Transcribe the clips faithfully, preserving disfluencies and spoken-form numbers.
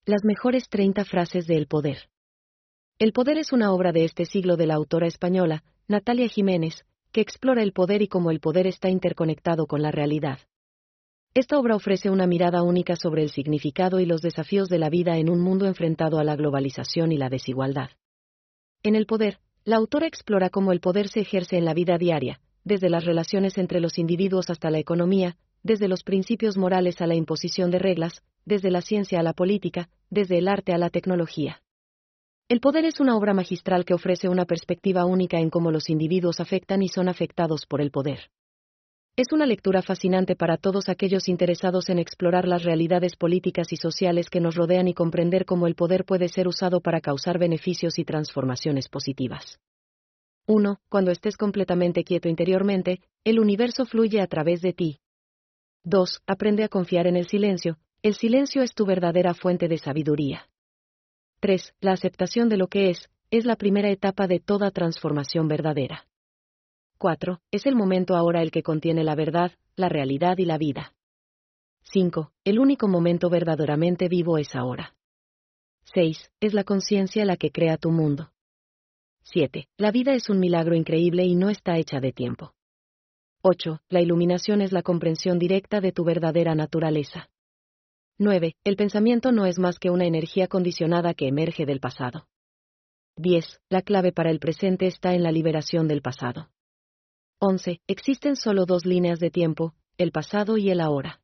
Las mejores treinta frases de El Poder. El Poder es una obra de este siglo de la autora española, Natalia Jiménez, que explora el poder y cómo el poder está interconectado con la realidad. Esta obra ofrece una mirada única sobre el significado y los desafíos de la vida en un mundo enfrentado a la globalización y la desigualdad. En El Poder, la autora explora cómo el poder se ejerce en la vida diaria, desde las relaciones entre los individuos hasta la economía, desde los principios morales a la imposición de reglas, desde la ciencia a la política, desde el arte a la tecnología. El Poder es una obra magistral que ofrece una perspectiva única en cómo los individuos afectan y son afectados por el poder. Es una lectura fascinante para todos aquellos interesados en explorar las realidades políticas y sociales que nos rodean y comprender cómo el poder puede ser usado para causar beneficios y transformaciones positivas. uno. Cuando estés completamente quieto interiormente, el universo fluye a través de ti. dos. Aprende a confiar en el silencio. El silencio es tu verdadera fuente de sabiduría. tres. La aceptación de lo que es, es la primera etapa de toda transformación verdadera. cuatro. Es el momento ahora el que contiene la verdad, la realidad y la vida. cinco. El único momento verdaderamente vivo es ahora. seis. Es la conciencia la que crea tu mundo. siete. La vida es un milagro increíble y no está hecha de tiempo. ocho. La iluminación es la comprensión directa de tu verdadera naturaleza. nueve. El pensamiento no es más que una energía condicionada que emerge del pasado. diez. La clave para el presente está en la liberación del pasado. once. Existen solo dos líneas de tiempo, el pasado y el ahora.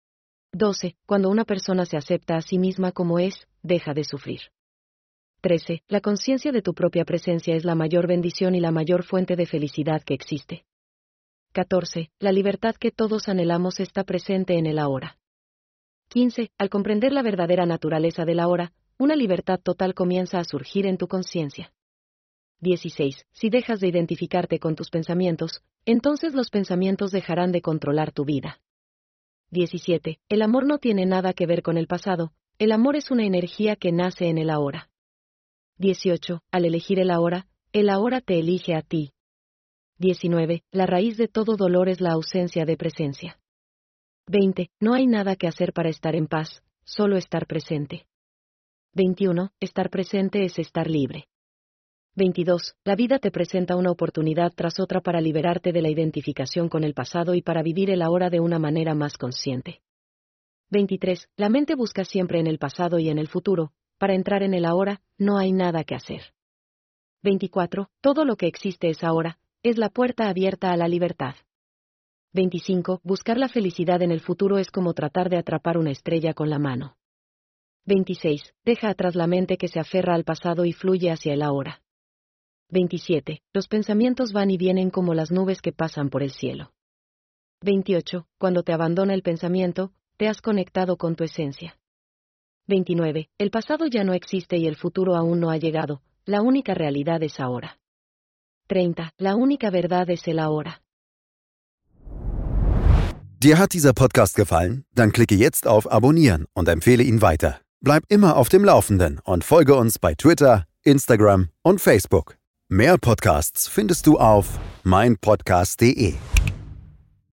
doce. Cuando una persona se acepta a sí misma como es, deja de sufrir. trece. La conciencia de tu propia presencia es la mayor bendición y la mayor fuente de felicidad que existe. catorce. La libertad que todos anhelamos está presente en el ahora. quince. Al comprender la verdadera naturaleza del ahora, una libertad total comienza a surgir en tu conciencia. dieciséis. Si dejas de identificarte con tus pensamientos, entonces los pensamientos dejarán de controlar tu vida. diecisiete. El amor no tiene nada que ver con el pasado, el amor es una energía que nace en el ahora. dieciocho. Al elegir el ahora, el ahora te elige a ti. diecinueve. La raíz de todo dolor es la ausencia de presencia. veinte. No hay nada que hacer para estar en paz, solo estar presente. veintiuno. Estar presente es estar libre. veintidós. La vida te presenta una oportunidad tras otra para liberarte de la identificación con el pasado y para vivir el ahora de una manera más consciente. veintitrés. La mente busca siempre en el pasado y en el futuro, para entrar en el ahora, no hay nada que hacer. veinticuatro. Todo lo que existe es ahora, es la puerta abierta a la libertad. veinticinco. Buscar la felicidad en el futuro es como tratar de atrapar una estrella con la mano. veintiséis. Deja atrás la mente que se aferra al pasado y fluye hacia el ahora. veintisiete. Los pensamientos van y vienen como las nubes que pasan por el cielo. veintiocho. Cuando te abandona el pensamiento, te has conectado con tu esencia. veintinueve. El pasado ya no existe y el futuro aún no ha llegado, la única realidad es ahora. treinta. La única verdad es el ahora. Dir hat dieser Podcast gefallen? Dann klicke jetzt auf Abonnieren und empfehle ihn weiter. Bleib immer auf dem Laufenden und folge uns bei Twitter, Instagram und Facebook. Mehr Podcasts findest du auf mein podcast punkt de.